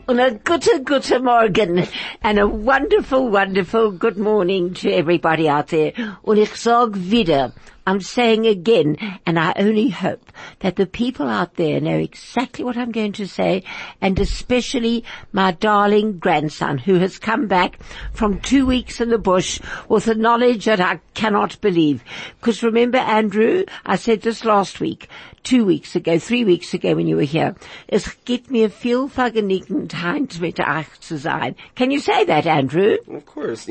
and a gute Morgen and a wonderful, wonderful good morning to everybody out there. Und ich sag wieder, I'm saying again, and I only hope that the people out there know exactly what I'm going to say, and especially my darling grandson who has come back from 2 weeks in the bush with a knowledge that I cannot believe. Because remember, Andrew, I said this last week, 2 weeks ago, 3 weeks ago when you were here, es gibt mir viel Vergnügen, heint mit euch zu sein. Can you say that, Andrew? Of course.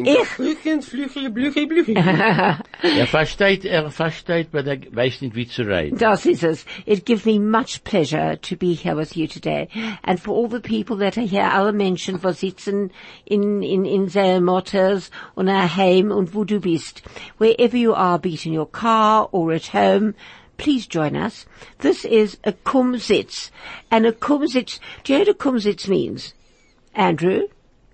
Versteht, but er weiß nicht, wie zu reden. Das ist es. It gives me much pleasure to be here with you today. And for all the people that are here, alle Menschen, die sitzen in their motors und heim und wo du bist. Wherever you are, be it in your car or at home, please join us. This is a Kumsitz. And a Kumsitz, do you know what a Kumsitz means? Andrew?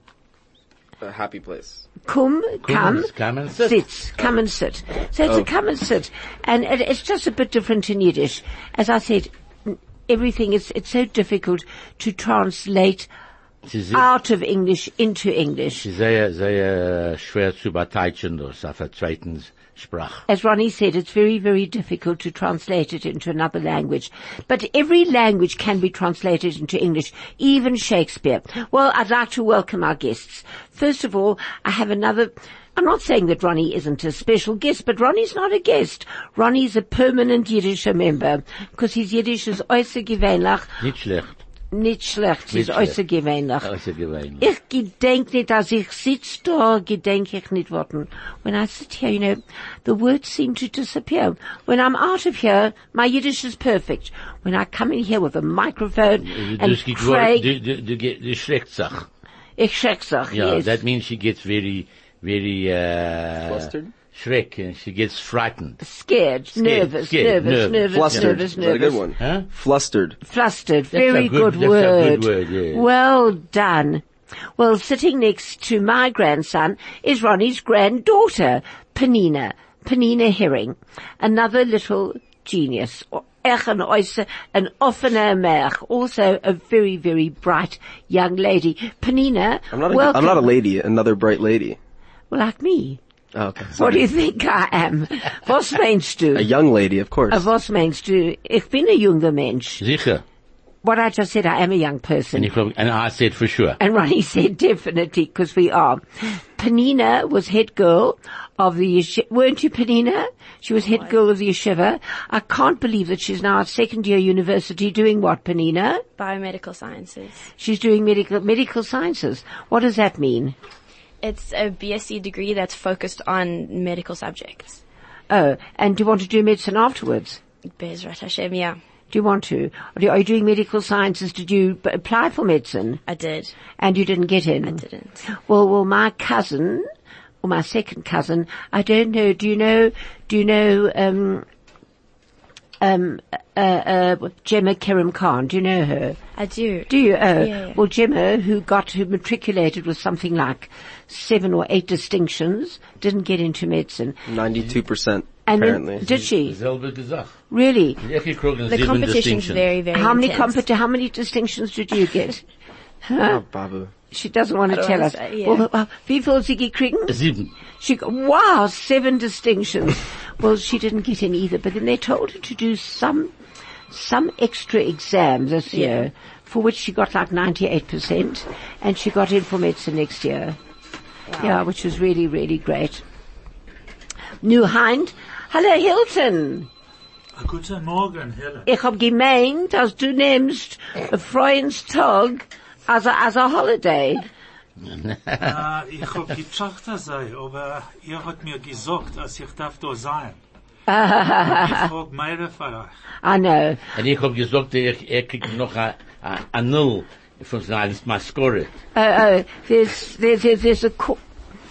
A happy place. Come and sit. Sit. Come and sit. So it's a come and sit. And it's just a bit different in Yiddish. As I said, everything it's so difficult to translate out of English into English. Sehr, sehr schwer zu beteiligen, das auf der zweiten Sprache. As Ronnie said, it's very, very difficult to translate it into another language. But every language can be translated into English, even Shakespeare. Well, I'd like to welcome our guests. First of all, I have another. I'm not saying that Ronnie isn't a special guest, but Ronnie's not a guest. Ronnie's a permanent Yiddish member, because his Yiddish is äußerst gewöhnlich. Nicht schlecht. Nicht schlecht, ist äußerst gewöhnlich. Außergewöhnlich. Ich gedenk nicht, als ich sitz da, gedenk ich nicht Worten. When I sit here, you know, the words seem to disappear. When I'm out of here, my Yiddish is perfect. When I come in here with a microphone and Craig... Du schreckt sich. Ich schreck sich, Yeah, yes. that means she gets very, Flustered? Schreck, and she gets frightened. Scared, nervous. Flustered. Nervous. Is that a good one? Huh? Flustered. Flustered. That's Very a good word. word, yeah. Well done. Well, sitting next to my grandson is Ronnie's granddaughter, Penina Herring. Another little genius. An offener Merch, also a very, very bright young lady. Penina, welcome. I'm not a lady, another bright lady. Well, like me. Oh, okay. What do you think I am? Was meinst du? A young lady, of course. Was meinst du? Ich bin ein junger Mensch. Sicher. What I just said, I am a young person. And I said for sure. And Ronnie said definitely, because we are. Penina was head girl of the yeshiva. Weren't you, Penina? She was head girl of the yeshiva. I can't believe that she's now at second year university doing what, Penina? Biomedical sciences. She's doing medical sciences. What does that mean? It's a BSc degree that's focused on medical subjects. Oh, and do you want to do medicine afterwards? Bezrat Hashem, yeah. Do you want to? Are you doing medical sciences? Did you apply for medicine? I did. And you didn't get in? I didn't. Well, my cousin, or my second cousin, I don't know, do you know, Gemma Kerem Khan, do you know her? I do. Do you? Oh. Yeah. Well, Gemma, who matriculated with something like 7 or 8 distinctions, didn't get into medicine. 92%, And apparently. then, did she? Selbe gesagt. Really? The competition's very, very How many distinctions did you get? Oh, Babu. She doesn't want to tell us. Yeah. Well, wie viel sie gekriegt? 7. Wow, 7 distinctions. Well, she didn't get in either, but then they told her to do some extra exam this year, for which she got like 98%, and she got in for medicine next year. Wow. Yeah, which was really, really great. Nu Hind, hallo Hilton. Guten Morgen, Helen. Ich hab gemeint, dass du nimmst a Freundstag as a holiday. Ich hab gedacht, aber ihr habt mir gesagt, dass ich darf da sein. Ich frag mehr für euch. I know. Und ich hab gesagt, kriegt noch a Null von seiner Maskore. There's a call.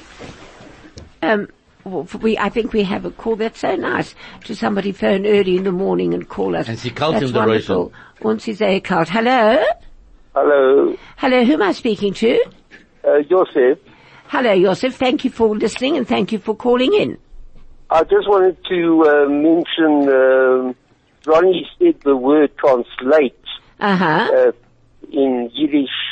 I think we have a call. That's so nice to somebody phone early in the morning and call us. And sie kalt That's in der wonderful. Und sie sehr kalt. Hello? Hello, Hello, who am I speaking to? Joseph. Hello, Joseph. Thank you for listening and thank you for calling in. I just wanted to mention, Ronnie said the word translate Uh-huh. in Yiddish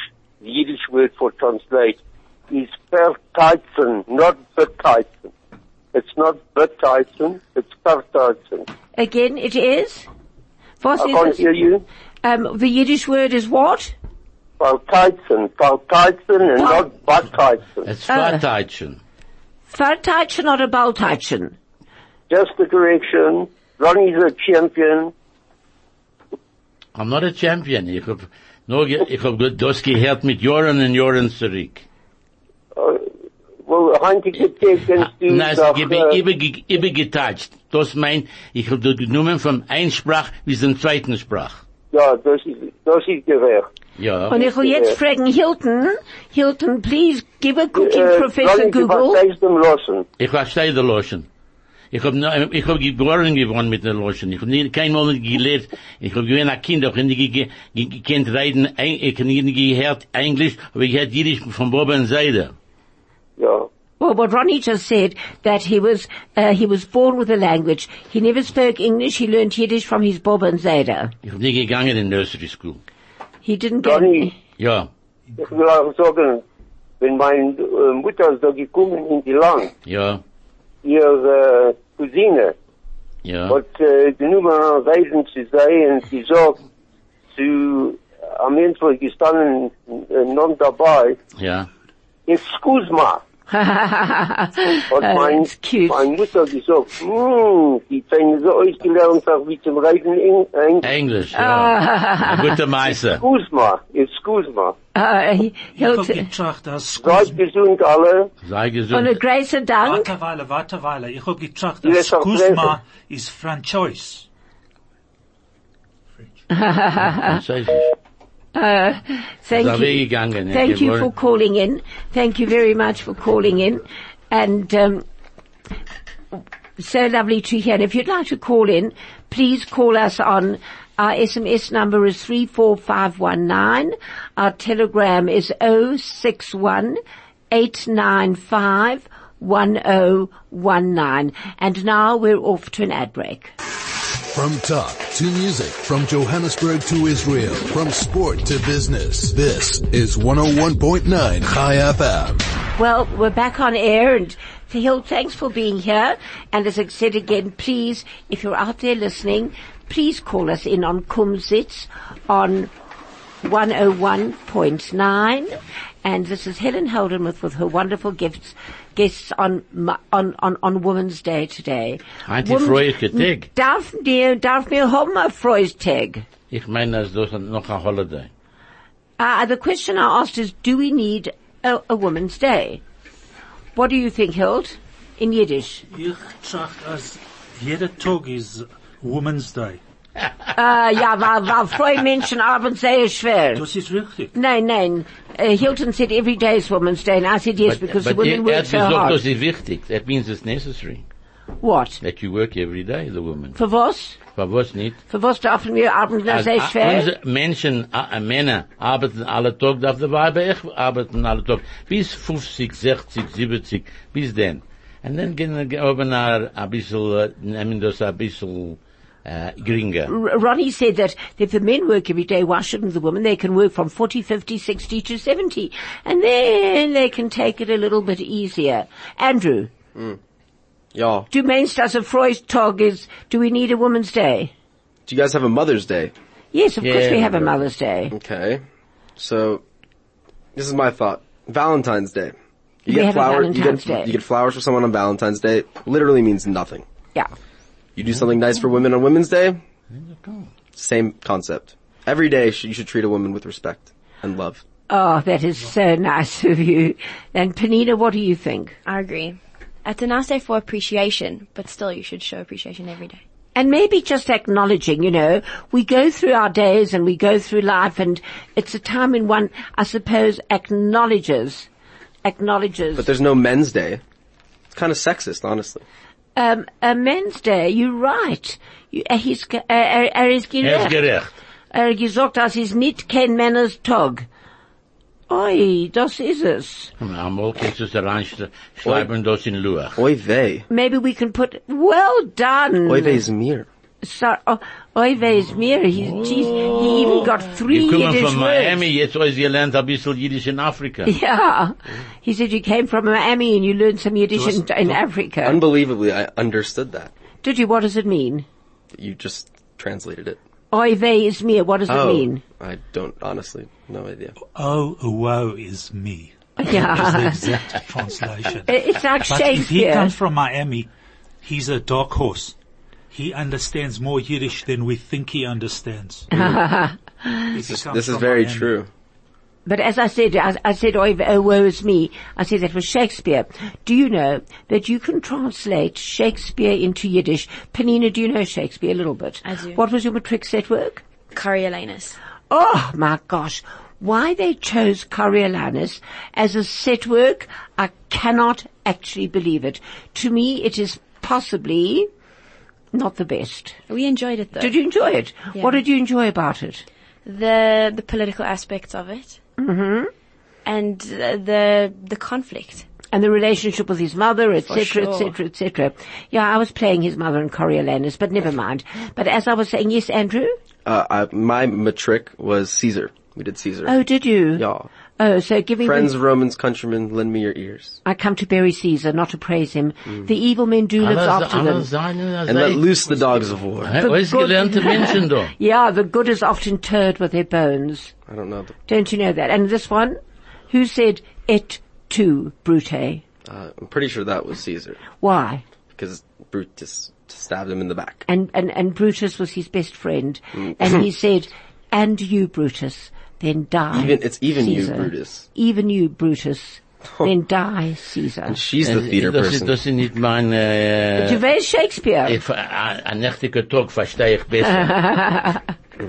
the Yiddish word for translate, is verteizen, not beteizen. It's not beteizen, it's verteizen. Again, it is? Was I is can't it? hear you. The Yiddish word is what? Verteizen and not beteizen. It's Vateitchen. Verteitchen or a Balteitchen? Just a correction. Ronnie's a champion. I'm not a champion. Ich hab das gehört mit Jahren und Jahren zurück. Well, heintige Tag kannst du Nein, doch, ich bin übergetatscht. Das meint, ich hab das genommen von ein Sprach bis zum zweiten Sprach. ja, das ist gerecht. Ja. Und ich will jetzt fragen, Hilton, please give a cooking Professor Ronnie, du Google. verstehst dem Loschen. Ich verstehe die Loschen. Ich hab geboren geworden mit der Loschen. Ich hab nie, kein Mal nicht gelehrt. Ich hab gewesen ein Kind, auch nicht gekannt reden, ich hab nicht gehört Englisch, aber ich hab Jiddisch von Boba und Seide. Ja. Well, what Ronnie just said, that he was born with a language. He never spoke English, he learned Yiddish from his Boba and Zayda. Ich hab nie gegangen in Nursery School. He didn't get Ronnie, Ja, ich will auch sagen, wenn meine Mutter ist da gekommen in die Land, ja, ihre Cousine, ja. hat genommen an Reisen zu sein und gesagt, am Mensch war gestanden, non dabei, Ja. excuse me. Hat it's cute. meine Mutter gesagt, die Zähne so ausgelernt, auch wie zum Reisen Englisch, ja. Ein guter Meister. excuse me. Ich hab Hilton, getracht, dass Seid gesund alle. Sei und gesund. a grace Dank. Warte Weile. Ich hab getracht, Yes, dass I'll Kuzma ist Franchise. Französisch. Thank Ist you. weggegangen. Thank you for calling in. Thank you very much for calling in. And, so lovely to hear. And if you'd like to call in, please call us on our SMS number is 34519. Our telegram is 061-895-1019. And now we're off to an ad break. From talk to music, from Johannesburg to Israel, from sport to business. This is 101.9 Chai FM. Well, we're back on air, and Hill, thanks for being here. And as I said again, please, if you're out there listening, please call us in on Kumsitz on 101.9. And this is Helen Heldenmuth with her wonderful guests on Women's Day today. Anti-Freudige Tag. Darf mir haben a Freudstag? Ich meine, das ist noch ein Holiday. The question I asked is, do we need a Women's Day? What do you think, Hild, in Yiddish? Ich tracht, als jeder Tag ist Women's Day. Ja, weil Frau Menschen arbeiten sehr schwer. Das ist richtig. Nein. Hilton said every day is Women's Day, and I said yes, because the women work so hard. Das ist wichtig. That means it's necessary. What? That you work every day, the woman. Für was? Aber was nicht? Für was dürfen wir arbeiten sehr schwer? Unsere Menschen, Männer, arbeiten alle Tag, darf der Weiber echt arbeiten alle Tag. Bis 50, 60, 70, bis dann. Und dann gehen wir oben ein bisschen, nehmen das ein bisschen, geringer. Ronnie said that if the men work every day, why shouldn't the women? They can work from 40, 50, 60 to 70. And then they can take it a little bit easier. Andrew. Ja. Du meinst, dass a Freudstag is, do we need a Woman's Day? Do you guys have a Mother's Day? Yes, of course Yeah, we have a right. Mother's Day. Okay. So, this is my thought. Valentine's Day. You We get have a flowers, Valentine's Day. you get flowers for someone on Valentine's Day. Literally means nothing. Yeah. You do something nice for women on Women's Day. Same concept. Every day you should treat a woman with respect and love. Oh, that is so nice of you. And Panina, what do you think? I agree. It's a nice day for appreciation, but still you should show appreciation every day. And maybe just acknowledging, we go through our days and we go through life, and it's a time when one, I suppose, acknowledges. But there's no Men's Day. It's kind of sexist, honestly. A Men's Day, you're right. Is gerecht. Gerecht. Gesagt, das ist nicht kein Männers Tag. Oi, das ist es. Einmal kannst du es reinschreiben, das in Luach. Oy vey. Maybe we can put, well done. Oy vey is mir. Oy vey is mir. He even got 3 You come Yiddish from words. Miami, jetzt always you learned a bisschen Yiddish in Africa. Yeah. He said you came from Miami and you learned some Yiddish in Africa. Unbelievably, I understood that. Did you? What does it mean? You just translated it. Oy vey is mir. What does it mean? I don't, honestly, no idea. Oh, woe is me. Yeah. Is the exact translation. It's like But if he Shakespeare. comes from Miami, he's a dark horse. He understands more Yiddish than we think he understands. This is very true. But as I said, oh, woe is me. I said that was Shakespeare. Do you know that you can translate Shakespeare into Yiddish? Penina, do you know Shakespeare a little bit? I do. What was your matric set work? Coriolanus. Oh my gosh. Why they chose Coriolanus as a set work, I cannot actually believe it. To me, it is possibly not the best. We enjoyed it though. Did you enjoy it? Yeah. What did you enjoy about it? The political aspects of it. Mm-hmm. And the conflict. And the relationship with his mother, etc., sure. etc., etc. Yeah, I was playing his mother in Coriolanus, but never mind. But as I was saying, yes, Andrew? My matric was Caesar. We did Caesar. Oh, did you? Yeah. Oh, so give me Friends, Romans, countrymen, lend me your ears. I come to bury Caesar, not to praise him. The evil men do live after them. And let loose the dogs of war. Always gelernte Menschen da. Yeah, the good is often interred with their bones. I don't know. Don't you know that? And this one? Who said et tu, Brute? I'm pretty sure that was Caesar. Why? Because Brutus stabbed him in the back. And Brutus was his best friend. And he said, and you, Brutus, then die. It's even Caesar. you, Brutus. Even you, Brutus, then die, Caesar. And she's the theater person. Das ist nicht mein, Du weißt Shakespeare. Ein nächtiger Tag verstehe ich besser.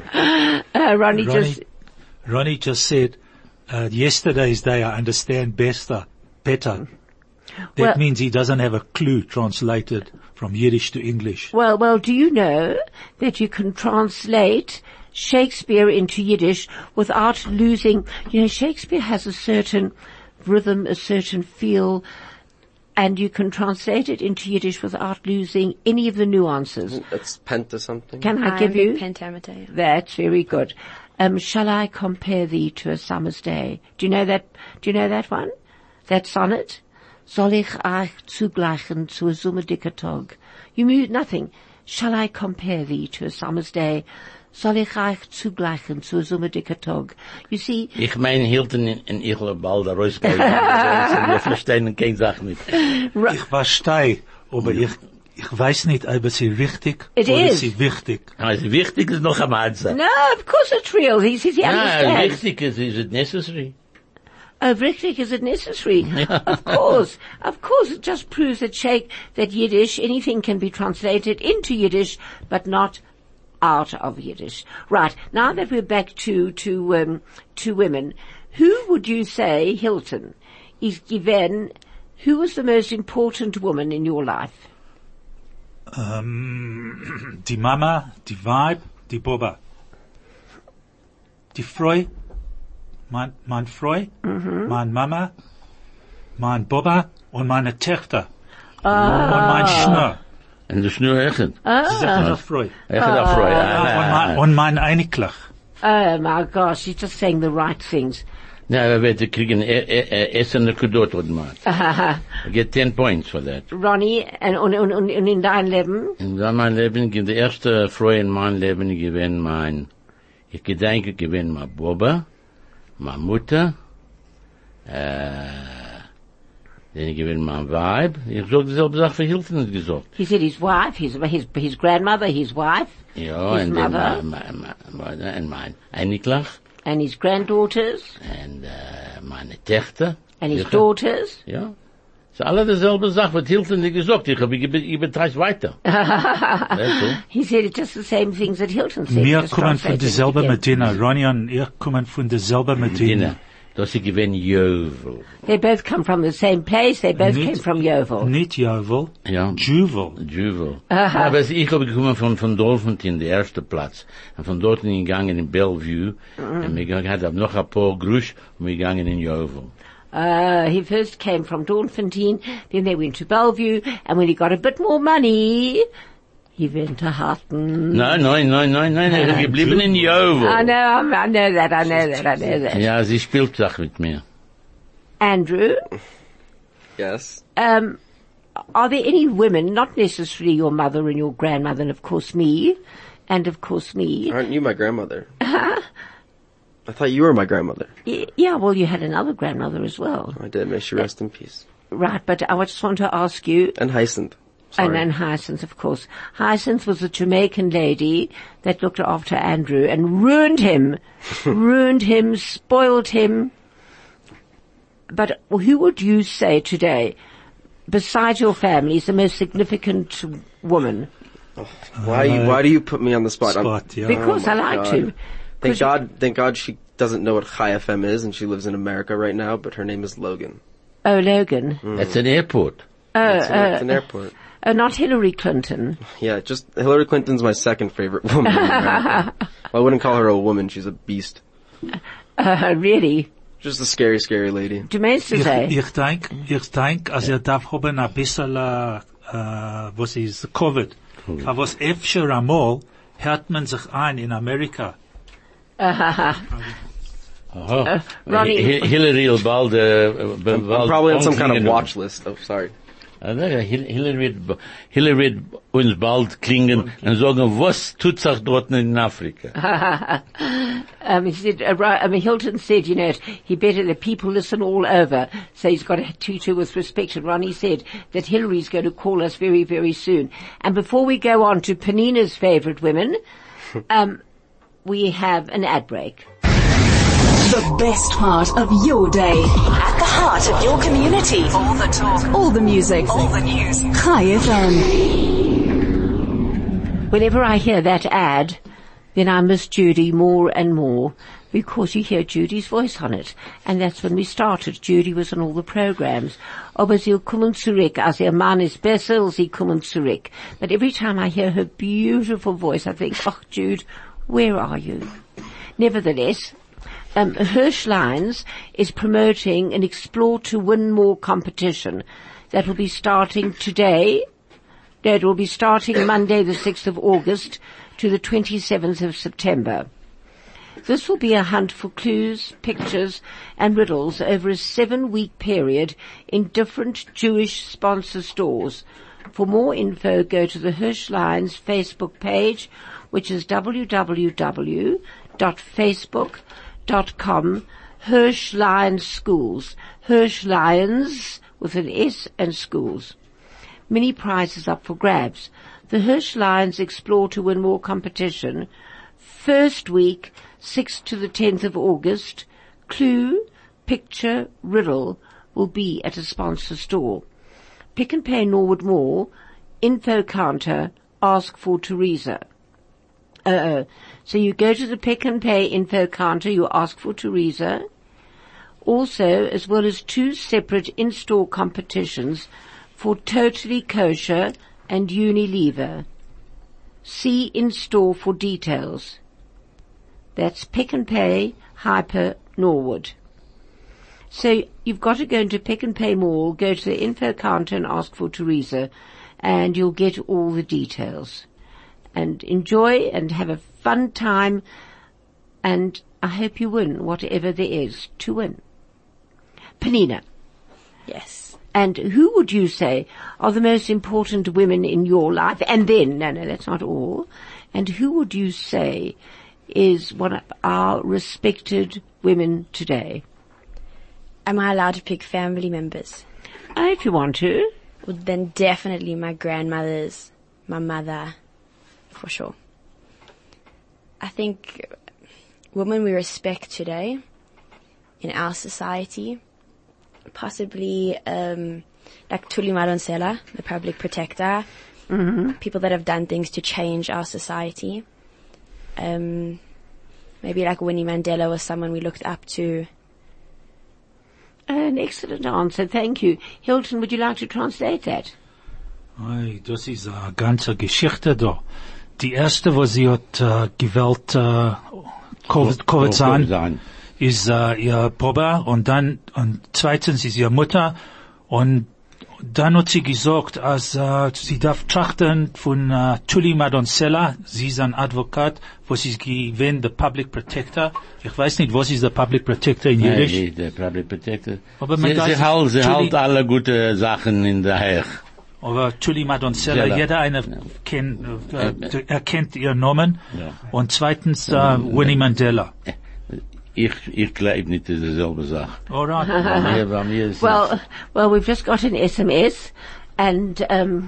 Ronnie just said, yesterday's day I understand better. That means he doesn't have a clue translated from Yiddish to English. Well, do you know that you can translate Shakespeare into Yiddish without losing, Shakespeare has a certain rhythm, a certain feel, and you can translate it into Yiddish without losing any of the nuances. It's penta something. Can I give you? Pentameter. Yeah. That's very good. Shall I compare thee to a summer's day? Do you know that one? That sonnet? Soll ich euch zugleichen zu a sommerdicker Tag? You move nothing. Shall I compare thee to a summer's day? Soll ich euch zugleichen zu a sommerdicker Tag? You see... Ich mein, Hilton in ihre bald rausgehen. Wir verstehen keine Sache nicht. Ich verstehe, aber ich weiß nicht, ob es richtig It oder is. es ist wichtig. Also wichtig ist noch am Anfang. No, of course it's real. He says he Ja, understands. wichtig ist it necessary? Oh, richtig, is it necessary? Of course. It just proves that Yiddish, anything can be translated into Yiddish, but not out of Yiddish. Right. Now that we're back to women, who would you say, Hilton, is given, who was the most important woman in your life? Die Mama, die Weib, die Boba. Die Frau, mein Frau, mein Mama, mein Boba und meine Töchter. Und mein Schnur. En de Schnur echt. Sie sagt auch Frau. Echt auch Freude. Und mein Einiglich. Oh my gosh, she's just saying the right things. Ja, we werden kriegen Essen Kudot und mal. I get 10 points for that. Ronnie, und in dein Leben? In mein Leben, die erste Freude in meinem Leben gewesen ich gedenke gewesen mein Boba, meine Mutter, then gewesen mein Weib. Ich sag dieselbe Sache für Hilton gesagt. He said his wife, his grandmother, his wife, Ja, his and mother, then mein Einiglach, and his granddaughters, and meine Töchter. and his daughters. Ja. So alle dieselbe Sache, was Hilton nicht gesagt. Ich übertreibe weiter. That's all. He said it's just the same things that Hilton said. Wir just kommen von translated derselben again. Medina. Ronnie und ich kommen von derselben Medina. Das ist gewesen Jovel. They both come from the same place. They both Nicht- came from Yeovil. Nicht Jovel, Ja. Juvel. Aber ich habe gekommen von Dolphinton, der erste Platz. Und von dort gegangen in Bellevue. Und wir hatten noch ein paar Grusch und wir gegangen in Jovel. He first came from Dawnfontein, then they went to Bellevue, and when he got a bit more money, Juwente Harten. Nein, er ist geblieben in Jovo. I know that. Ja, sie spielt Sach mit mir. Andrew, Yes. are there any women, not necessarily your mother and your grandmother and of course me, Aren't you my grandmother? I thought you were my grandmother. Yeah, well, you had another grandmother as well. I did. May she rest in peace. Right, but I just want to ask you, And Hyacinth. Sorry. and Hyacinth, of course. Hyacinth was a Jamaican lady that looked after Andrew and ruined him, spoiled him. But who would you say today, besides your family, is the most significant woman? Why do you put me on the spot? Yeah. Because Oh I my like God. to. Thank God she doesn't know what Chai FM is, and she lives in America right now, but her name is Logan. Oh, Logan. That's an airport. It's an airport. Oh, not Hillary Clinton. Yeah, just Hillary Clinton's my second favorite woman in America. Well, I wouldn't call her a woman, she's a beast. Really? Just a scary, scary lady. Du meinst zu sagen? Ich denk, als darf haben ein bisschen, was ist Covid. Aber was öfter einmal hört man sich ein in Amerika. Ronnie. Hillary will bald, I'm probably on some kind of watch list. Oh, sorry. Hillary uns bald klingen und sagen, was tut sich dort in Afrika? He said, Hilton said, he better the people listen all over, so he's got to treat her with respect. And Ronnie said that Hillary's going to call us very, very soon. And before we go on to Panina's favorite women, we have an ad break. The best part of your day. At the heart of your community. All the talk. All the music. All the news. Chai FM. Whenever I hear that ad, then I miss Judy more and more because you hear Judy's voice on it. And that's when we started. Judy was on all the programs. Aber sie kommen zurück. Als ihr Mann ist besser, sie kommen zurück. But every time I hear her beautiful voice, I think, oh, Jude, where are you? Nevertheless, Hirschlines is promoting an Explore to Win More competition that will be starting today. No, it will be starting Monday the 6th of August to the 27th of September. This will be a hunt for clues, pictures and riddles over a 7-week period in different Jewish sponsor stores. For more info, go to the Hirschlines Facebook page, which is www.facebook.com Hirsch Lions Schools. Hirsch Lions with an S and schools. Many prizes up for grabs. The Hirsch Lions Explore to Win More competition. First week, 6th to the 10th of August. Clue, picture, riddle will be at a sponsor store. Pick and Pay Norwood Mall, info counter, ask for Teresa. So you go to the Pick and Pay info counter, you ask for Teresa. Also, as well as 2 separate in-store competitions for Totally Kosher and Unilever. See in-store for details. That's Pick and Pay, Hyper, Norwood. So you've got to go into Pick and Pay Mall, go to the info counter and ask for Teresa, and you'll get all the details. And enjoy and have a fun time, and I hope you win whatever there is to win. Panina. Yes. And who would you say are the most important women in your life? And then, no, that's not all. And who would you say is one of our respected women today? Am I allowed to pick family members? If you want to. Well, then definitely my grandmothers, my mother, for sure. I think women we respect today in our society, possibly like Tuli Madonsela, the public protector, people that have done things to change our society. Maybe like Winnie Mandela was someone we looked up to. An excellent answer, thank you. Hilton, would you like to translate that? Hey, das ist eine ganze Geschichte da. Die erste, was sie hat gewählt, Covid sein, ist ihr Papa und zweitens ist ihre Mutter und Dann hat sie gesagt, als sie darf trachten von Tully Madonsela, sie ist ein Advokat, was ist gewesen, der Public Protector. Ich weiß nicht, was ist der Public Protector in Jiddisch? Nein, der Public Protector. Aber man Sie hält alle gute Sachen in der Heich. Aber Tully Madonsela, jeder eine erkennt ihren Namen. Ja. Und zweitens, Winnie Mandela. Ich glaube nicht, das ist dieselbe Sache. Alright. Bei mir ist Well, we've just got an SMS, and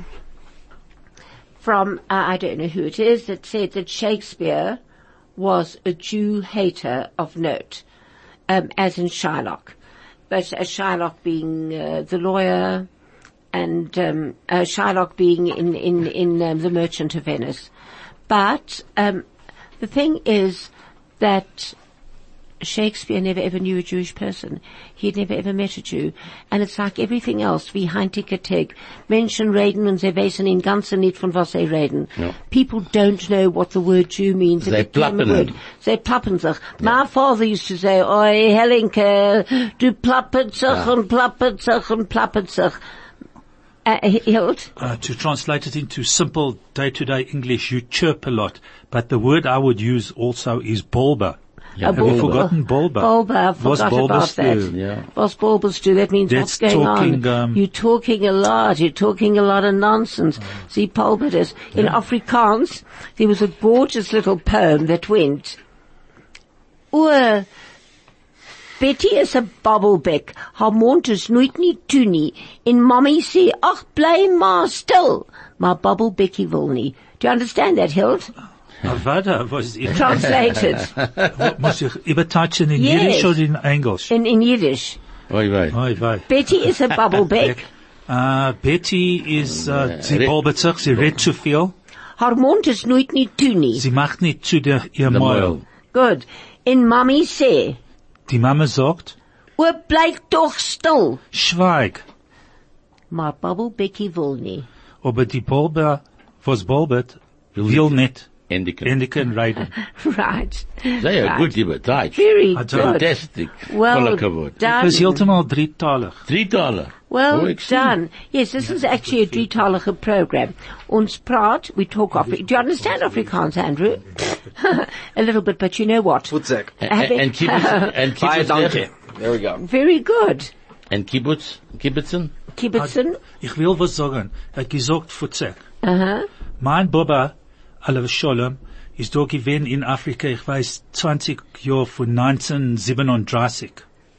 from I don't know who it is, that said that Shakespeare was a Jew hater of note, as in Shylock, but Shylock being the lawyer, and Shylock being in The Merchant of Venice. But the thing is that Shakespeare never ever knew a Jewish person. He had never ever met a Jew. And it's like everything else. Wie Heintikerteg. Menschen reden und sie wissen in ganzen nicht von was sie reden. Ja. People don't know what the word Jew means. They plappen. They plappen sich. My father used to say, oi, Helenke, du plappert sich und plappert sich und plappert sich. Hilt? To translate it into simple day-to-day English, you chirp a lot. But the word I would use also is bulba. Yeah, Have you forgotten bulba? Bulba, I forgot about that. Yeah. What's bulbas do? That means That's what's going talking, on. You're talking a lot. You're talking a lot of nonsense. See, bulba is. In Afrikaans, there was a gorgeous little poem that went, Betty is a bubblebeck. Haar mond is nooit nie toe nie. En mommy sê, ach, bly maar stil. Maar bubbelbekkie wil nie. Do you understand that, Hild? Avada was it? Translated. Muss ich übertauchen in Yes. Yiddish oder in English? In Yiddish. Oi, wei. Oi, wei. Betty is a bubblebeck. Betty is, sie bulbert sich, sie redet zu viel. Haar mond is nooit nie toe nie. Sie macht nicht zu ihr Maul. Good. En mommy sê, Die Mama sagt, bleib doch still. schweig. Maar bubbelbekkie wil nie. Aber die Bulber, was bulbert, will nicht Endike. endigen reden. Right. Sehr Right. gut, lieber Deutsch. Very I good. don't- Fantastic. Well Voller Kavod. done. Das ist heeltemal drietalig. $3. Well Oh, excellent. done. Yes, this is actually a drietalige program. Ons praat, we talk Afrikaans. Do you understand Afrikaans, Andrew? A little bit, but you know what? Futzek. And kibbutz, Bye, donkey. There we go. Very good. and kibbutzen? Kibbutzen? Ich will was sagen. Er hat gesagt, Futzek. Uh-huh. Mein Baba, Alav Sholem, ist da gewesen in Afrika, ich weiß, 20 Jahre von 1937.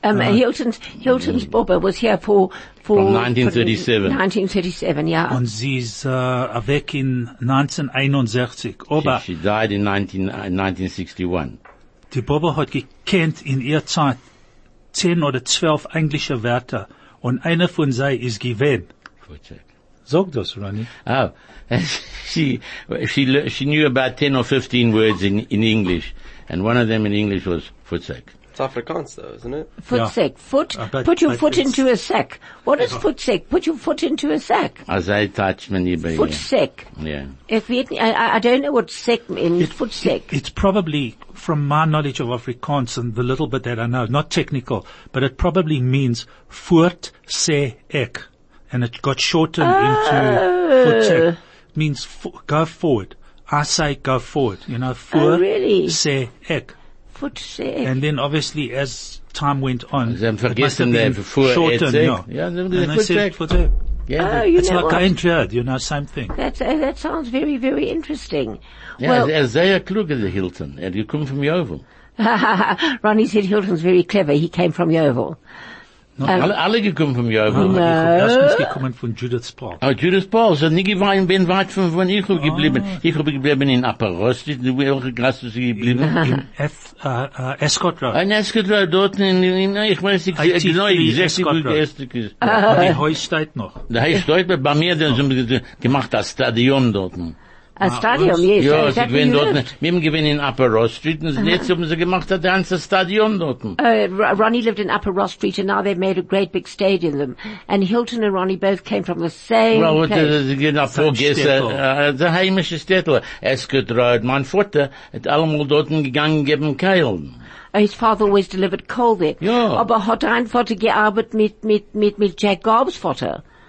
Hilton's Bobber was here for From 1937. 1937, yeah. Und sie ist weg in 1961. Aber She died in 1961. die Baba hat gekannt in ihrer Zeit 10 oder 12 englische Wörter. Und einer von sie ist gewesen. Sag das, Ronnie. Oh, she knew about 10 or 15 words in English, and one of them in English was Futzek. It's Afrikaans though, isn't it? Footsack. Foot. But- Put your but foot it's- into a sack. What is footsack? Put your foot into a sack. As I touch many baby. Footsack. Yeah. If I don't know what sack means. Footsack. It's probably, from my knowledge of Afrikaans and the little bit that I know, not technical, but it probably means voort sê ek. And it got shortened into voetsek. Means go forward. I say go forward. You know, voort really? sê ek. Footsack. And then obviously as time went on, Sie haben it must have vergessen, been vor shortened, Etzek. yeah. Ja, sie haben And gesagt, they said Futzek. voetsek. Yeah, Oh, you It's know like what? I heard, you know, same thing. That sounds very, very interesting. ja, Well, sehr kluge, der Hilton. Die kommt vom Jovel. Ronnie said Hilton's very clever. He came from Yeovil. Alle gekommen vom Jovel. Erstens gekommen von Judith Paul. Oh, Judas Paul, so nie gewesen, bin weit von ich geblieben. Ich habe geblieben in Upper Rost, welche Klasse sie geblieben? In Escott Road. Ein Eskedra dort in, ich weiß nicht, genau, 83 ich Escott sag, Road. ist. Die Haus steht noch. Da heißt heute bei mir, dann haben sie gemacht das Stadion dort. A stadium, yes. Ja, Is sie that where gewinnen you dort, lived? wir haben gewinnen in Upper Ross Street, und jetzt haben sie gemacht das ganze Stadion dort. Ronnie lived in Upper Ross Street, and now they've made a great big stadium. And Hilton and Ronnie both came from the same Well, place. sie gehen auf Vorgäste, der heimische Städtel, Eskedra, mein Vater hat allemal dort gegangen, geben Keilen. His father always delivered coal there. Ja. Aber hat ein Vater gearbeitet mit Jack Garb's Vater.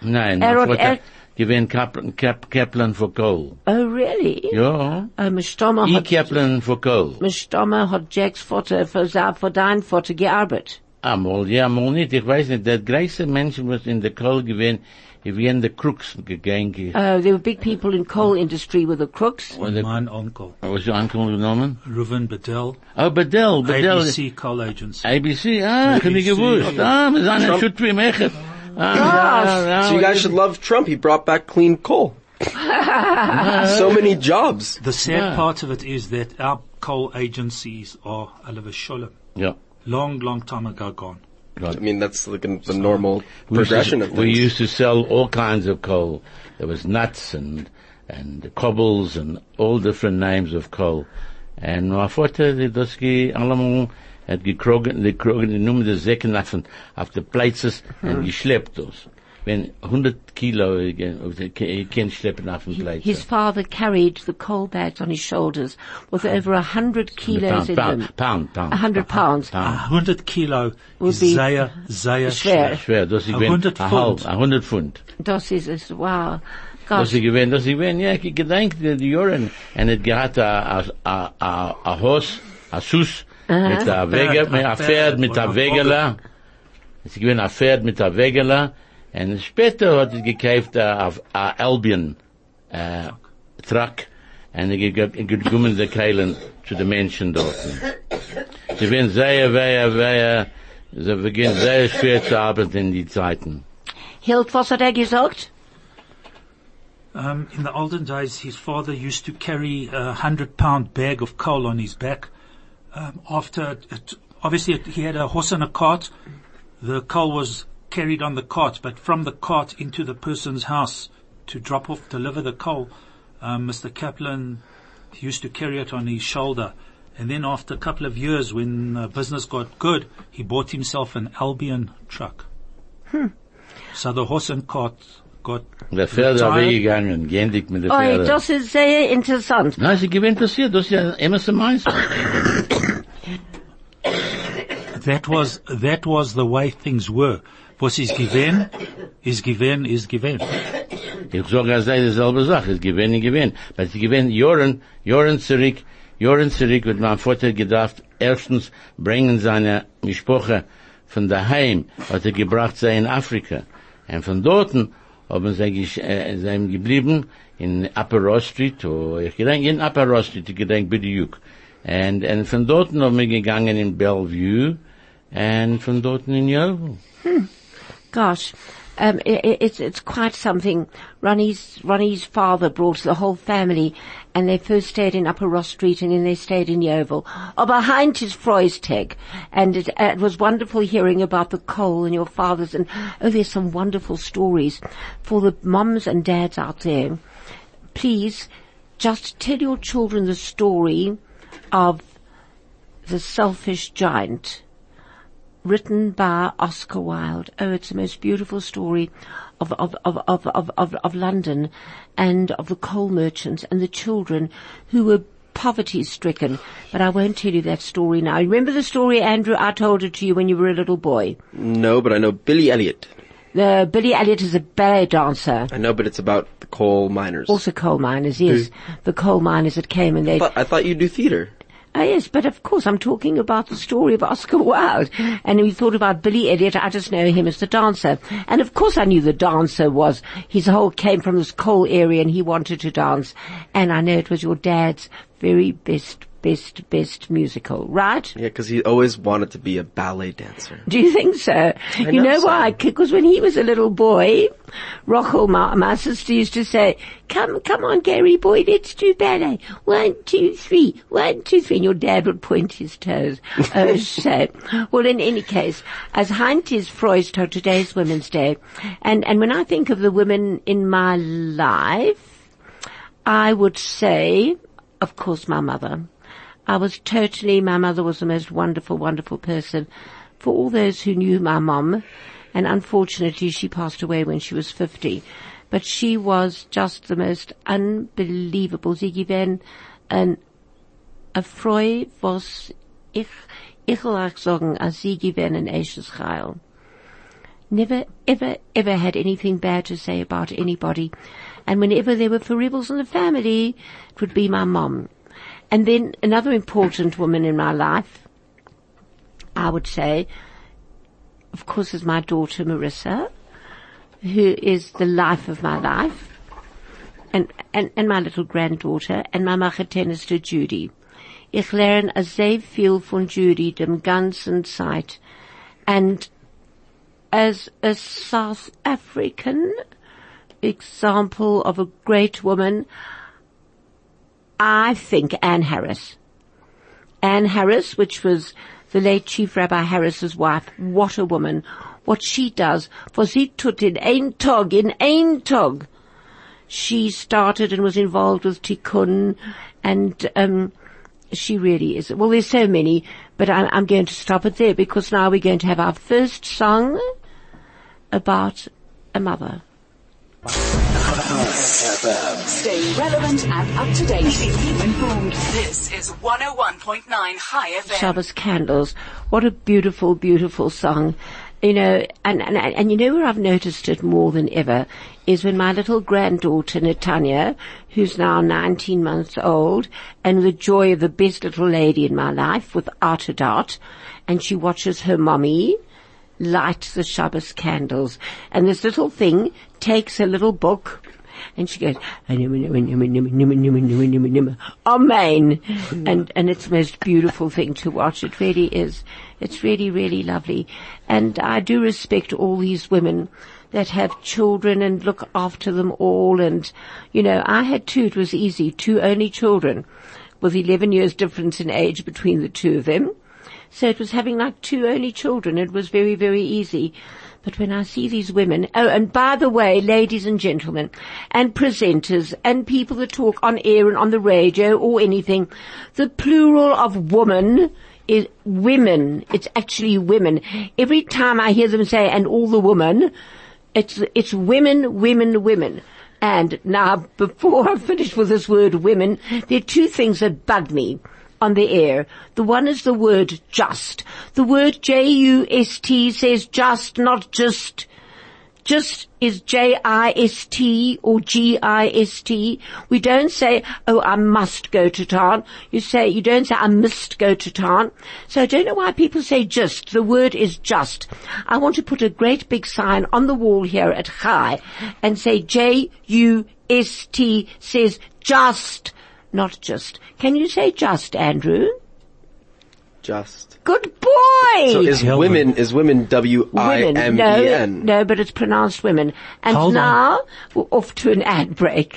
Nein, gewinn Kaplan für Kohl. Oh, really? Ja. Mishtomer Ich hat, Kaplan für Kohl. Mishtomer hat Jacks Vater für dein Vater gearbeitet. Amol, ja, amol nicht. Ich weiß nicht, der größte Mensch, was in der Kohl gewinn, wie in der Crooks gegangen. There were big people in coal industry with the crooks. Mein Onkel, Was your uncle genommen? Reuven Bedell, Oh, Bedell. ABC Coal Agency. ABC, ich hab nicht gewusst. Wir sind ein Schutri Mechet. So you guys should love Trump. He brought back clean coal. So many jobs. The sad part of it is that our coal agencies are alav sholem. Ja. Long time ago gone. I mean, that's like the normal progression of things. We used to sell all kinds of coal. There was nuts and cobbles and all different names of coal. And my father, das allemal hat gekrogen, die nummer der Säcken auf die Places und geschleppt das. Wenn 100 Kilo, kann schleppen auf den Plates. His father carried the coal bags on his shoulders with over 100 kilos in them. Pound. 100 pounds. 100 kilo Would is be sehr schwer. Schwer, das ich 100 Pfund. 100 Pfund. Das ist, wow. Das Gosh. ich gewinn, ja, ich gedenk die Jahren, und es gehat a Haus, a Sus, mit a Wege, mit a Pferd, mit a Wegela. Es gewinn a Pferd mit a Wegela, und später hat es gekauft a Albion, Truck, und gekommen die Keilen zu den Menschen dort. Sie werden sie beginnen sehr schwer zu arbeiten in die Zeiten. Hilt, was hat gesagt? In the olden days, his father used to carry a 100-pound bag of coal on his back. Obviously he had a horse and a cart. The coal was carried on the cart, but from the cart into the person's house to deliver the coal, Mr. Kaplan used to carry it on his shoulder. And then after a couple of years, when business got good, he bought himself an Albion truck. So the horse and cart got Der Pferde weggegangen, gendig mit der Pferde. Oh, das ist sehr interessant. Nein, sie gewinnt interessiert, das ist ja immer so meins. That was the way things were. Was is given, is given, is given. Ich sage, es sei dieselbe Sache, es gewinn. Weil sie gewinn Jahren zurück, wird mein Vater gedacht, erstens bringen seine Mischpoche von daheim, hat gebracht sei in Afrika. Und von dorten haben sie geblieben in Upper Ross Street, ich gedenk in Upper Ross Street, ich gedenk Bidiuk. Und von dorten haben wir gegangen in Bellevue, und von dorten in Yeovil. Gosh. It's quite something. Ronnie's father brought the whole family, and they first stayed in Upper Ross Street, and then they stayed in Yeovil. Behind his Freustag. And it was wonderful hearing about the coal and your fathers, and there's some wonderful stories for the mums and dads out there. Please, just tell your children the story of The Selfish Giant, written by Oscar Wilde. Oh, it's the most beautiful story of London and of the coal merchants and the children who were poverty stricken. But I won't tell you that story now. Remember the story, Andrew? I told it to you when you were a little boy. No, but I know Billy Elliot. Billy Elliot is a ballet dancer. I know, but it's about the coal miners. Also coal miners, yes. The coal miners that came and I thought you do theater. Oh yes, but of course I'm talking about the story of Oscar Wilde. And we thought about Billy Elliot, I just know him as the dancer. And of course I knew the dancer came from this coal area and he wanted to dance. And I know it was your dad's very best musical, right? Yeah, because he always wanted to be a ballet dancer. Do you think so? You know why? Because when he was a little boy, Rachel, my sister, used to say, come on, Gary boy, let's do ballet. 1, 2, 3. 1, 2, 3. And your dad would point his toes. Oh, so. Well, in any case, as Heint is Freud, today's Women's Day, and when I think of the women in my life, I would say, of course, my mother. My mother was the most wonderful, wonderful person. For all those who knew my mom, and unfortunately she passed away when she was 50, but she was just the most unbelievable. Sie gewesen a Freu, was ich will auch sagen, als sie gewesen ein echtes Heil. never, ever, ever had anything bad to say about anybody. And whenever there were foibles in the family, it would be my mom. And then another important woman in my life, I would say, of course, is my daughter Marissa, who is the life of my life, and my little granddaughter, and my Machetenister Judy. Ich lerne sehr viel von Judy, dem ganzen Zeit. And as a South African example of a great woman, I think Anne Harris. Anne Harris, which was the late Chief Rabbi Harris's wife, what a woman. What she does, for sie tut in ein Tag. She started and was involved with Tikkun, and she really is. Well, there's so many, but I'm going to stop it there because now we're going to have our first song about a mother. Stay relevant and up to date. Keep informed. This is 101.9 High FM. Shabbos Candles. What a beautiful, beautiful song. You know, and you know where I've noticed it more than ever is when my little granddaughter Netanya, who's now 19 months old, and the joy of the best little lady in my life, without a doubt, and she watches her mommy light the Shabbos candles, and this little thing takes a little book, and she goes, Amen. And it's the most beautiful thing to watch. It really is. It's really, really lovely. And I do respect all these women that have children and look after them all. And, you know, I had two. It was easy. Two only children with 11 years difference in age between the two of them. So it was having like two only children. It was very, very easy. But when I see these women, oh, and by the way, ladies and gentlemen, and presenters, and people that talk on air and on the radio or anything, the plural of woman is women. It's actually women. Every time I hear them say, and all the women, it's women, women, women. And now, before I finish with this word women, there are two things that bug me on the air. The one is the word just. The word J-U-S-T says just, not just. Just is J-I-S-T or G-I-S-T. We don't say, oh, I must go to town. You don't say, I must go to town. So I don't know why people say just. The word is just. I want to put a great big sign on the wall here at Chai and say J-U-S-T says just, not just. Can you say just, Andrew? Just. Good boy! So is women W-I-M-E-N? No, but it's pronounced women. And Hold now, we're off to an ad break.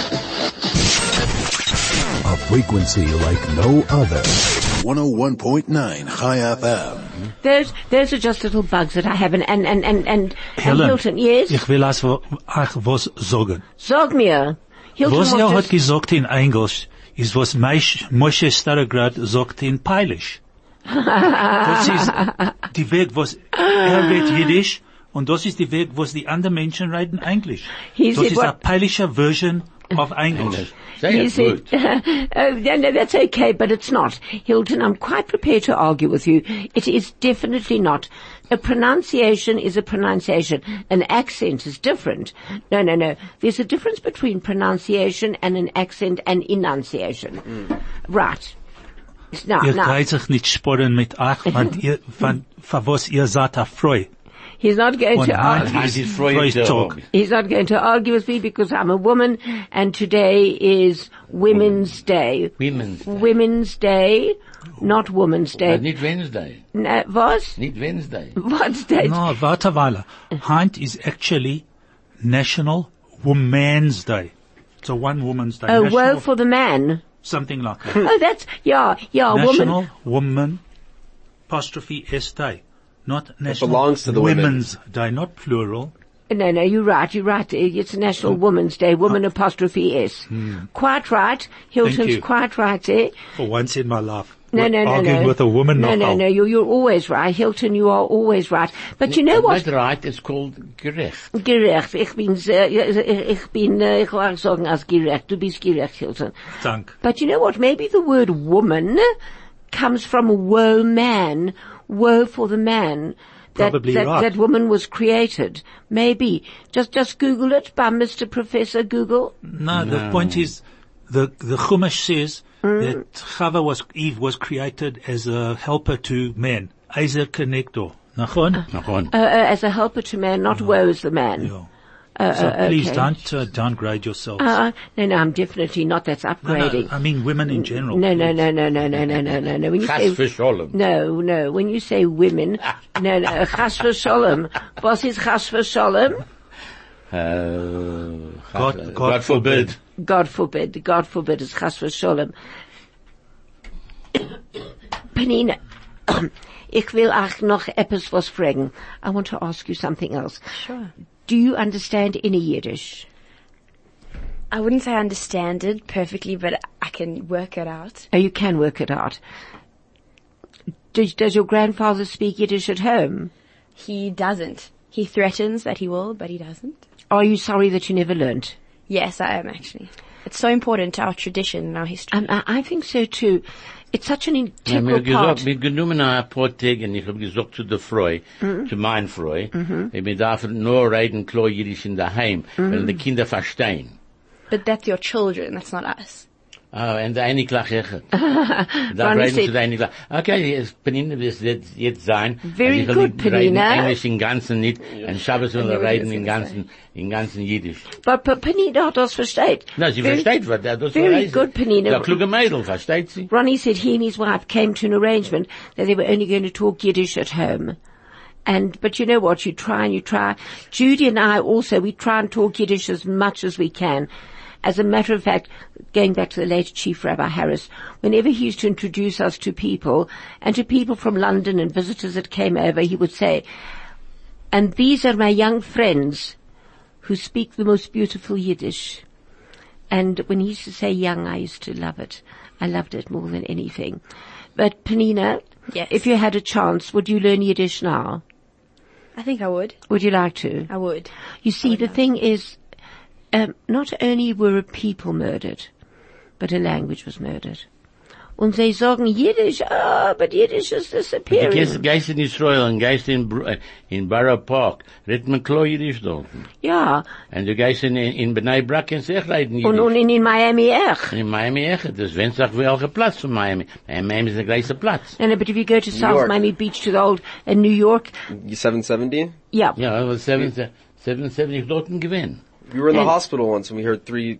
A frequency like no other. 101.9 High FM. Those are just little bugs that I have. And Helen, Hilton, yes? ich will was sagen. Sag mir. Hilton Was wants hat gesagt in Englisch, ist was Moshe Starograd sagt in Peilisch. Das ist die Weg, was redet Jiddisch, und das ist die Weg, was die anderen Menschen reden Englisch. Das ist a Peilischer Version of English. He said, no, that's okay, but it's not. Hilton, I'm quite prepared to argue with you. It is definitely not. A pronunciation is a pronunciation. An accent is different. No. There's a difference between pronunciation and an accent and enunciation. Right. Now. Geht sich nicht sporen mit euch, von was ihr seid erfreut. He's not going to argue. He's not going to argue with me because I'm a woman, and today is Women's Day. Women's Day, not Woman's Day. Not Wednesday. No, was? Not Wednesday. What's that? No, warte weile. Heint is actually National Women's Day. So one Woman's Day. Oh, National, woe for the man. Something like that. Oh, that's, yeah, National Woman, apostrophe S Day. Not National belongs to the Women's Day, not plural. No, you're right. It's National Woman's Day, woman apostrophe S. Quite right. Hilton's quite right there. For once in my life. No. Arguing with a woman. No, you're always right. Hilton, you are always right. But you know what? Not right, it's called gerecht. Gerecht. Ich will sagen als gerecht. Du bist gerecht, Hilton. Dank. But you know what? Maybe the word woman comes from woe man, woe for the man. probably right. that woman was created. Maybe. Just Google it by Mr. Professor Google. No, the point is, the Chumash says that Eve was created as a helper to men. Ezer connector. Nachon? As a helper to man, not woe as the man. Yeah. So please okay. don't downgrade yourselves. No, I'm definitely not. That's upgrading. No, I mean women in general. No. When you Chas say v'sholem. no, when you say women, no, chas v'sholem. Was is chas v'sholem? God forbid. God forbid is chas v'sholem. Penina, ich will auch noch etwas was fragen. I want to ask you something else. Sure. Do you understand any Yiddish? I wouldn't say I understand it perfectly, but I can work it out. Oh, you can work it out. Does your grandfather speak Yiddish at home? He doesn't. He threatens that he will, but he doesn't. Are you sorry that you never learnt? Yes, I am actually. It's so important to our tradition and our history. I think so too. It's such an integral part. Mir genommen ein paar Tage, und ich hab gesagt zu der Frau, zu meiner Frau, wir dürfen nur reden klar Jiddisch in daheim, weil die Kinder verstehen. But that's your children, that's not us. Oh, und der eine gleich echt. Da reden zu der eine gleich. Okay, Penina wird jetzt sein. Very ich will good, nicht reden Penina. Englisch im Ganzen nicht, und Shabbos will reden im Ganzen Jiddisch. But Penina das versteht. No, sie versteht, was das Very good, Penina. Der kluge Mädel, versteht sie? Ronnie said he and his wife came to an arrangement that they were only going to talk Yiddish at home. But you know what, you try and you try. Judy and I also, we try and talk Yiddish as much as we can. As a matter of fact, going back to the late Chief Rabbi Harris, whenever he used to introduce us to people, and to people from London and visitors that came over, he would say, and these are my young friends who speak the most beautiful Yiddish. And when he used to say young, I used to love it. I loved it more than anything. But Penina, Yes. if you had a chance, would you learn Yiddish now? I think I would. Would you like to? I would. You see, the thing is, not only were a people murdered, but a language was murdered. Und sie sagen Yiddish, but Yiddish is disappearing. Die Geist in Israel und Geist in Borough Park, redet man klar Jiddisch dort. Ja. Und die Geist in Bnei Brak kann sich reden Jiddisch. Und in Miami echt. In Miami echt, das wenn's auch welcher Platz von Miami. Miami ist der gleiche Platz. No, but if you go to South York. Miami Beach to the old New York, 770? yeah. Ja, aber 770 dort gewinnen. We were in the And- hospital once and we heard three,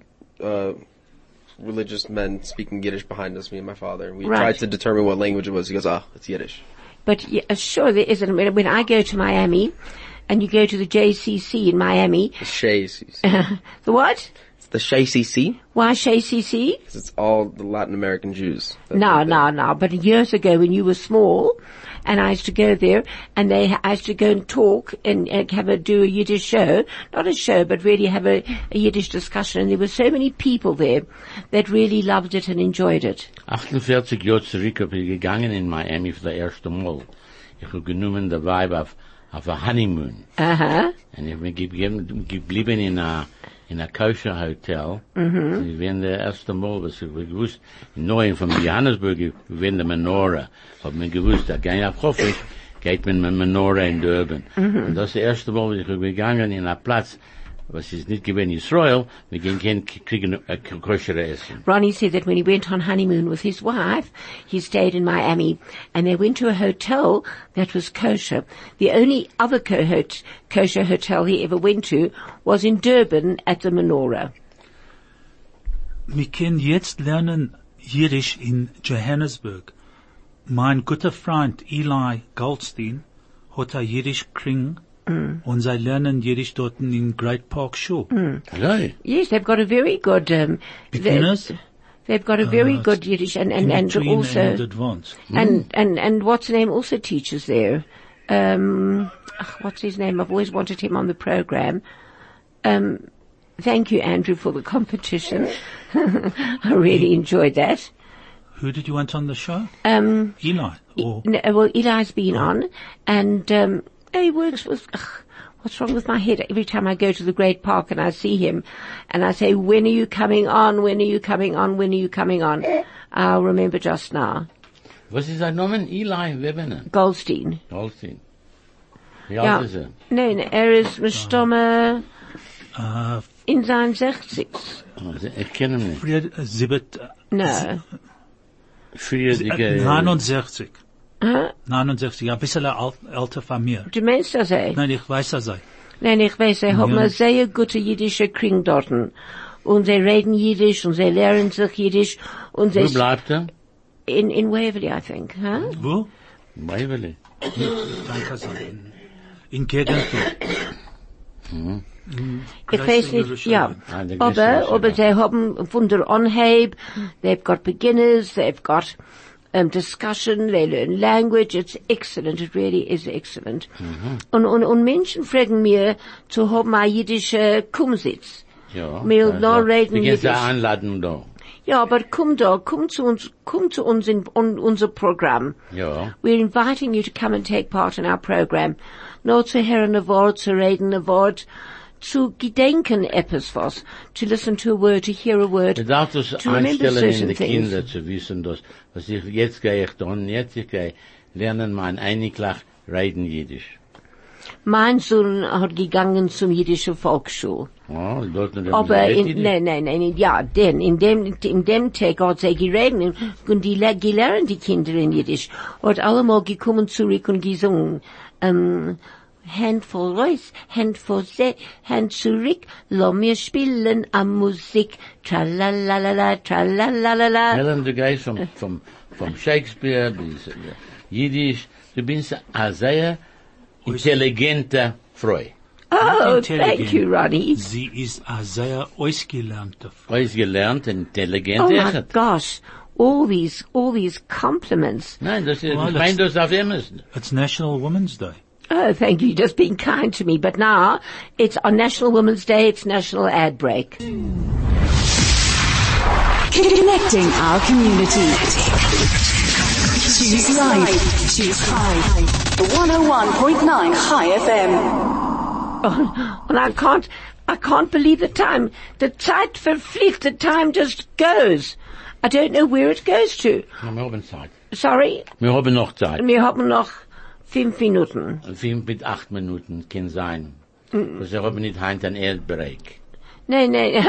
religious men speaking Yiddish behind us, me and my father. And we Right. tried to determine what language it was. He goes, it's Yiddish. But yeah, sure there isn't. When I go to Miami, and you go to the JCC in Miami, It's Shays. the what? It's the Shay CC, Why JCC? because it's all the Latin American Jews. that No. live there. But years ago when you were small, and I used to go there, and I used to go and talk and do a Yiddish show, not a show, but really have a Yiddish discussion, and there were so many people there that really loved it and enjoyed it. 48 Jahre zurück habe ich gegangen in Miami für das erste Mal. Ich habe genommen der Vibe auf a Honeymoon. Uh-huh. Und ich bin geblieben in a kosher Hotel. Ich bin der erste Mal, was ich gewusst, neu von Johannesburg, ich bin der Menorah. Hab mir gewusst, da gehe ich auf Hoffisch, geht man mit Menorah in Durban. Und das ist das erste Mal, was ich bin gegangen in a Platz, was ist nicht gewesen Israel, wir gehen kriegen a kosher Essen. Ronnie said that when he went on honeymoon with his wife, he stayed in Miami, and they went to a hotel that was kosher. The only other kosher hotel he ever went to was in Durban at the Menorah. Wir können jetzt lernen Yiddish in Johannesburg. Mein guter Freund Eli Goldstein hat a Yiddish Kring und sie lernen Yiddish dort in Great Park Shul. Hello. Yes, they've got a very good, Beginners, they've got a very good Yiddish and between and also, advanced. and what's the name also teaches there. What's his name? I've always wanted him on the program. Thank you, Andrew, for the competition. I really enjoyed that. Who did you want on the show? Eli. Or No, well, Eli's been on, and he works with. What's wrong with my head? Every time I go to the Great Park and I see him, and I say, "When are you coming on? When are you coming on? When are you coming on?" I'll remember just now. Was ist sein Name? Eli Webener. Goldstein. Goldstein. Wie alt ist er? Nein, ist gestorben in seinen 60s. Also, ich kenne ihn nicht. Früher, No. Früher, 69. 69, ein bisschen älter von mir. Du meinst das, eh? Nein, ich weiß das. Nein, ich weiß, sie haben eine sehr gute jüdische Kring dort. Und sie reden Jiddisch und sie lernen sich Jiddisch. Und Wo bleibt er? In Waverly, I think, huh? Wo? Waverly. Danke sein. In Gegentour. Ich weiß nicht, ja. Aber sie haben von der Anheb, they've got beginners, they've got discussion, they learn language, it's excellent, it really is excellent. Und Menschen fragen mir zu haben eine jüdische Kumsitz. Ja. Mir noch reden Wir gehen zur Jiddisch. Einladung da. Ja, aber komm zu uns in unser Programm. Ja. We're inviting you to come and take part in our program. Nur zu hören ein Wort, zu reden ein Wort, zu gedenken etwas was, to listen to a word, to hear a word, Du darfst das to remember einstellen in certain die things. Kinder zu wissen, dass, was jetzt gehe ich dann, jetzt ich gehe lernen mein Einiglach reden Jiddisch. Mein Sohn hat gegangen zum jüdischen Volksschule. Oh, dort noch Aber in dem Tag hat sie geredet und die gelernt die Kinder in Jiddisch. Hat allemal gekommen zurück und gesungen. Hand vor Reus, Hand vor See, Hand zurück, lass mir spielen am Musik, tralalala, tralalala. Helen, du gehst vom Shakespeare bis Jiddisch, du bist eine sehr intelligente Frau. Oh, Intelligent. thank you, Ronnie. Sie ist eine sehr ausgelernte Frau. Ausgelernt, intelligent, Oh my echt. gosh, all these compliments. Nein, das ist, Well, ich meine das auf Emerson. It's National Women's Day. Oh, thank you, just being kind to me. But now, it's on National Women's Day, it's National Ad Break. Connecting our community. Choose life. Choose high. 101.9 High FM. And I can't believe the time. The Zeit verfliegt, the time just goes. I don't know where it goes to. Ja, wir haben Zeit. Sorry, Wir haben noch Zeit. wir haben noch 5 Minuten. 5 bis 8 Minuten kann sein. Das ist aber nicht heint ein Erdbereich. No.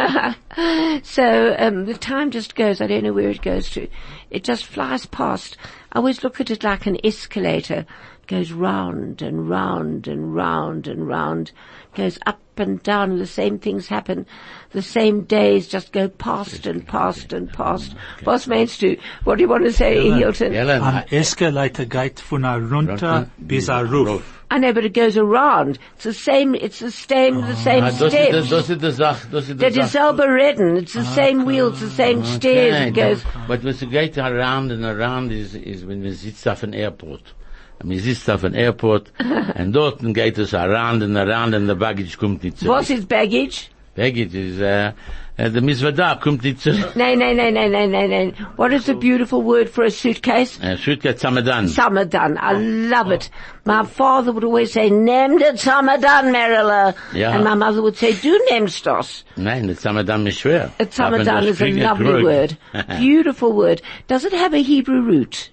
So, the time just goes. I don't know where it goes to. It just flies past. I always look at it like an escalator. It goes round and round and round and round. Goes up and down and the same things happen. The same days just go past and past and past. Was meinst du? What do you want to say, Hilton? Helen, Ein Escalator geht von runter bis Roof. I know, but it goes around. It's the same Das steps. ist die Sache, das ist die That is Sache. selber redden. It's the same wheels, the same stairs. Okay, It goes. but when it geht around and around is when man sitzt auf an Airport. And man sitzt auf an Airport and dort geht es around and the baggage kommt nicht zurück. What is baggage? Baggage is, the Mizvada kommt nicht zurück. No. What is the beautiful word for a suitcase? Suitcase Samadan. Samadan. I love it. My father would always say, "Nimm den Samadan, Marilla." Ja. And my mother would say, "Du nimmst das." Nein, das Samadan ist schwer. A Samadan Aber is a das lovely kriegt word. zurück. Beautiful word. Does it have a Hebrew root?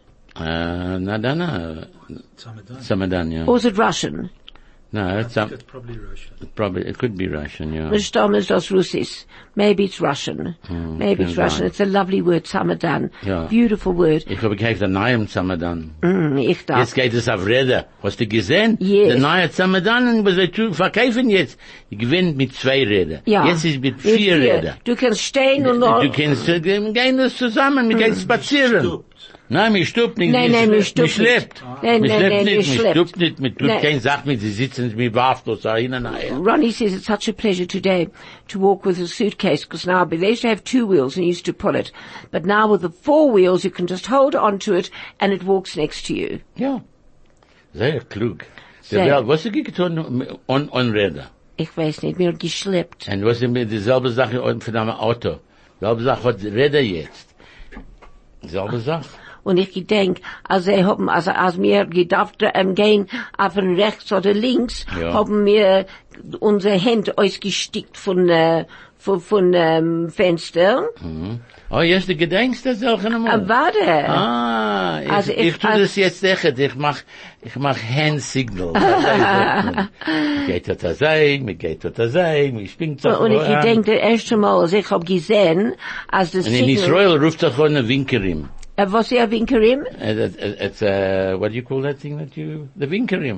Na, Samadan, yeah. Or is it Russian? No, it's It's probably Russian. probably, it could be Russian, yeah. Mishtam is das Russis. Maybe it's Russian. Maybe it's can Russian. sein. It's a lovely word, Samadan. Ja. Beautiful word. Ich habe gekauft einen neuen Samadan. Ich darf. Jetzt geht es auf Räder. Hast du gesehen? Yes. Der neue Samadan, was wir verkaufen jetzt, die gewinnt mit 2 Rädern. Ja. Jetzt ist mit 4 Rädern. Du kannst stehen und noch. Du kannst, gehen das zusammen, wir gehen spazieren. Nein, mir stuppt nicht. Nein, mir mir stuppt schleppt. nicht. Nein, Mir schleppt mir nicht, mir schleppt. stuppt nicht, mir tut Nein. kein Sach mit, sie sitzen mit wafflos da hinein. Ronnie says it's such a pleasure today to walk with a suitcase because now they used to have 2 wheels and you used to pull it. But now with the 4 wheels you can just hold onto it and it walks next to you. Ja. Sehr klug. Sehr. Der Welt, was hast du getan on Räder? Ich weiß nicht, mir geschleppt. Und was ist mit dieselbe Sache von einem Auto? Dieselbe Sache hat Räder jetzt. Dieselbe Sache. Und ich gedenk, als wir gedacht, gehen auf den rechts oder links, Ja. haben wir unsere Hände ausgestickt von Fenster. Oh, jetzt du gedenkst das auch einmal. Warte. Ah, Also ich tu das jetzt echt. Ich mach Hand Signal. Geht das sein, mir geht das sein, mir springt so. Und ich gedenk, das erste Mal, als ich hab gesehen, als das Und in Israel ruft das von einem Winkerim. was ist ein Winkerim? It's what do you call that thing the Winkerim?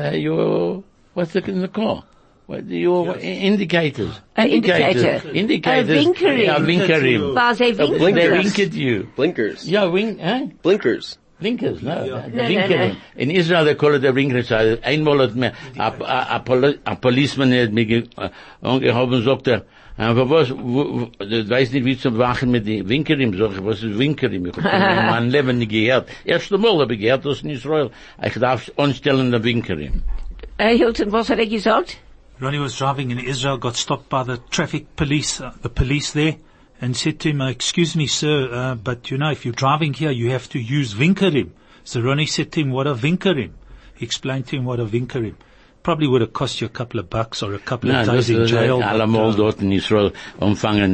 What's in the car? What your indicators? Indicator. Indicators. Winkerim. Yeah, Winkerim. Was ein They Winkerim? wink at you. Blinkers. Yeah, wink, eh? Blinkers. Blinkers, no. No, Winkerim. no. In Israel they call it a blinkers. Einmal hat mir, a policeman hat mir angehoben, sagt aber was, du weißt nicht, wie zu wachen mit den Winkerim, sag ich, was ist Winkerim? Ich hab mein Leben nicht gehört. Erste Mal habe ich gehört, das in Israel. Ich darf anstellen, der Winkerim. Hilton, was hat gesagt? Ronnie was driving in Israel, got stopped by the traffic police, the police there, and said to him, excuse me, sir, but you know, if you're driving here, you have to use Winkerim. So Ronnie said to him, what a Winkerim? He explained to him what a Winkerim. Probably would have cost you a couple of bucks or a couple of days in jail. Allemal dort in Israel umfangen.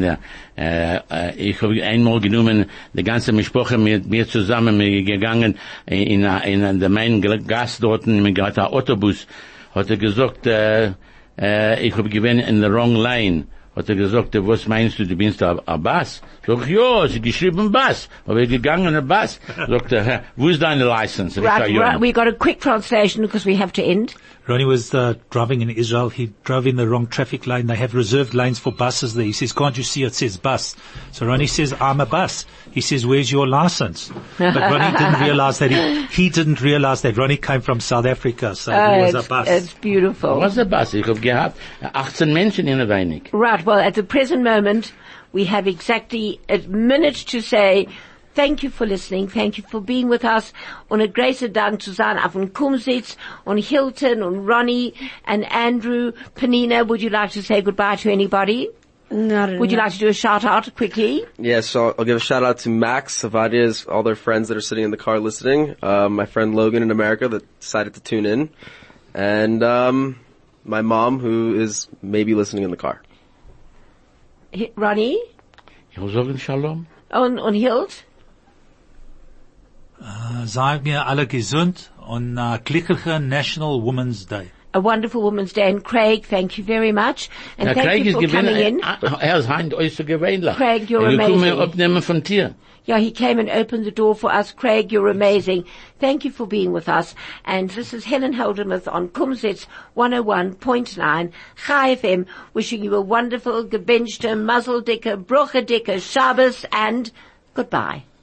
Ich habe einmal genommen, die ganze Mischproche mit mir zusammen gegangen in der Main Gas dort, mit einem Autobus, hat gesagt, ich habe gewinn in the wrong lane. Hat gesagt, was meinst du bist ein Bass? Sag ich, ja, sie geschrieben Bass. Aber ich gegangen ein Bass. Sagt wo ist deine License? Right, we got a quick translation because we have to end. Ronnie was driving in Israel. He drove in the wrong traffic lane. They have reserved lanes for buses there. He says, can't you see it says bus? So Ronnie says, I'm a bus. He says, where's your license? But Ronnie didn't realize that he didn't realize that Ronnie came from South Africa. So he was a bus. It's beautiful. Was ein Bass? Ich habe gehabt 18 Menschen in der Weinig. Right, well, at the present moment, we have exactly a minute to say thank you for listening, thank you for being with us. Und a großer Dank zu sein auf dem Kumsitz und Hilton und Ronnie and Andrew. Penina, would you like to say goodbye to anybody? No, Would you like to do a shout out quickly? Yeah, so I'll give a shout out to Max, Savadia's, all their friends that are sitting in the car listening. My friend Logan in America that decided to tune in. And, my mom who is maybe listening in the car. Ronnie? Ich will sagen Shalom. Und Hilt? Seien wir alle gesund und glücklicher National Women's Day. A wonderful Women's Day. And Craig, thank you very much. And thank Craig you ist for coming in. ist heint äußerst gewöhnlich. Craig, you're Ich komme amazing. abnehmen von dir. Yeah, he came and opened the door for us. Craig, you're amazing. Thank you for being with us. And this is Helen Holdermuth on Kumsitz 101.9 Chai FM, wishing you a wonderful, gebenchte, muzzle dicker, broche dicker, Shabbos, and goodbye.